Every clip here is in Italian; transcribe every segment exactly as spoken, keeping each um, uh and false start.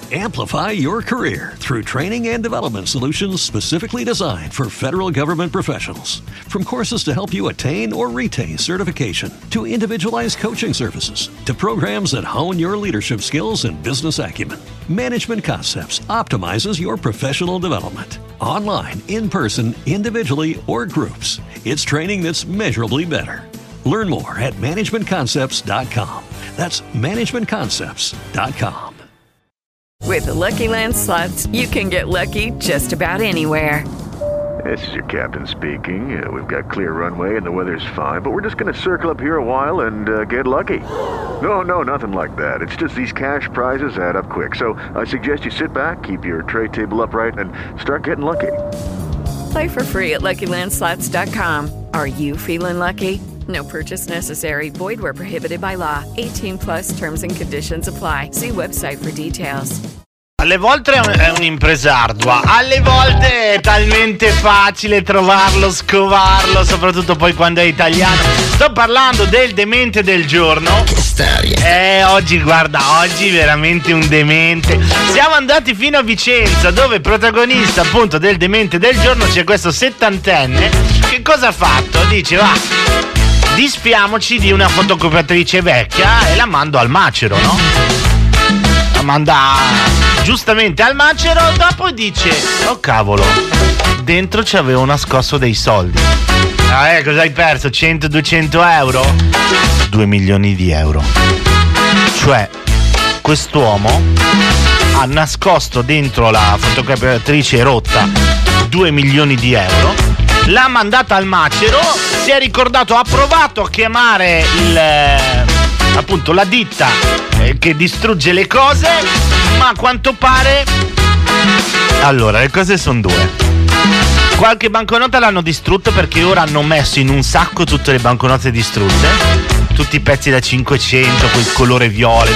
Amplify your career through training and development solutions specifically designed for federal government professionals. From courses to help you attain or retain certification, to individualized coaching services, to programs that hone your leadership skills and business acumen, Management Concepts optimizes your professional development. Online, in person, individually, or groups, it's training that's measurably better. Learn more at management concepts dot com. That's management concepts dot com. With the Lucky Land Slots, you can get lucky just about anywhere. This is your captain speaking. Uh, we've got clear runway and the weather's fine, but we're just going to circle up here a while and uh, get lucky. No, no, nothing like that. It's just these cash prizes add up quick. So I suggest you sit back, keep your tray table upright, and start getting lucky. Play for free at lucky land slots dot com. Are you feeling lucky? No purchase necessary. Void where prohibited by law. eighteen plus terms and conditions apply. See website for details. Alle volte è, un, è un'impresa ardua, alle volte è talmente facile trovarlo, scovarlo, soprattutto poi quando è italiano. Sto parlando del demente del giorno. Che storia! Eh, oggi, guarda, oggi veramente un demente. Siamo andati fino a Vicenza, dove protagonista appunto del demente del giorno c'è questo settantenne. Che cosa ha fatto? Dice, va, disfiamoci di una fotocopiatrice vecchia e la mando al macero, no? La manda giustamente al macero, dopo dice, oh cavolo, dentro ci avevo nascosto dei soldi. Ah, eh, cosa hai perso? cento duecento euro? due milioni di euro. Cioè, quest'uomo ha nascosto dentro la fotocopiatrice rotta due milioni di euro, l'ha mandata al macero, si è ricordato, ha provato a chiamare il appunto la ditta eh, che distrugge le cose, ma a quanto pare, allora le cose sono due. Qualche banconota l'hanno distrutta perché ora hanno messo in un sacco tutte le banconote distrutte, tutti i pezzi da cinquecento, quel colore viola.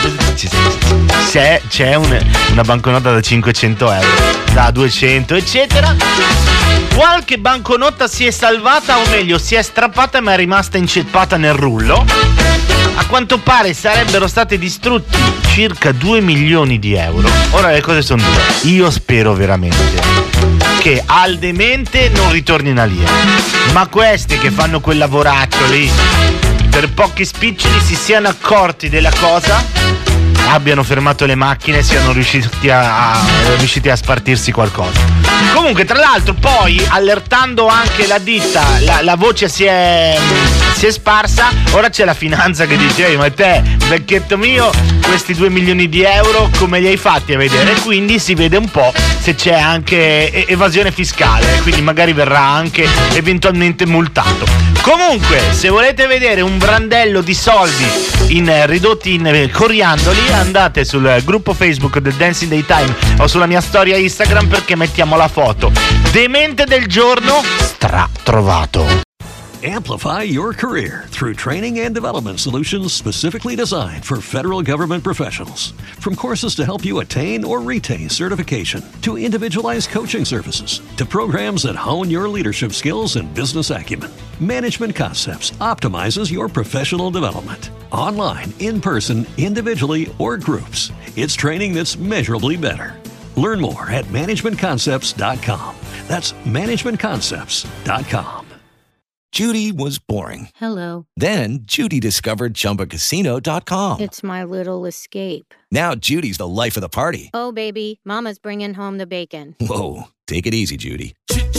C'è, c'è un, una banconota da cinquecento euro, da duecento eccetera. Qualche banconota si è salvata, o meglio si è strappata ma è rimasta inceppata nel rullo. A quanto pare sarebbero stati distrutti circa due milioni di euro. Ora le cose sono due. Io spero veramente che al demente non ritornino lì, ma questi che fanno quel lavoraccio lì per pochi spiccioli si siano accorti della cosa, abbiano fermato le macchine e siano riusciti a, a, riusciti a spartirsi qualcosa. Comunque, tra l'altro, poi allertando anche la ditta, la, la voce si è, si è sparsa. Ora c'è la finanza che dice, ehi, ma te, vecchietto mio, questi due milioni di euro come li hai fatti a vedere? Quindi si vede un po' se c'è anche evasione fiscale, quindi magari verrà anche eventualmente multato. Comunque, se volete vedere un brandello di soldi in, ridotti in coriandoli, andate sul gruppo Facebook del Dancing Daytime o sulla mia storia Instagram, perché mettiamo la foto. Demente del giorno stra trovato. Amplify your career through training and development solutions specifically designed for federal government professionals. From courses to help you attain or retain certification, to individualized coaching services, to programs that hone your leadership skills and business acumen, Management Concepts optimizes your professional development. Online, in person, individually, or groups, it's training that's measurably better. Learn more at management concepts dot com. That's management concepts dot com. Judy was boring. Hello. Then Judy discovered Chumba Casino dot com. It's my little escape. Now Judy's the life of the party. Oh, baby, mama's bringing home the bacon. Whoa, take it easy, Judy.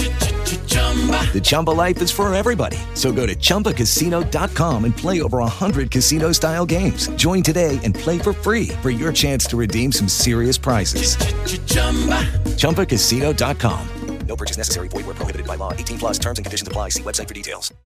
The Chumba life is for everybody. So go to Chumba Casino dot com and play over one hundred casino-style games. Join today and play for free for your chance to redeem some serious prizes. Chumba Casino dot com. No purchase necessary. Void where prohibited by law. eighteen plus terms and conditions apply. See website for details.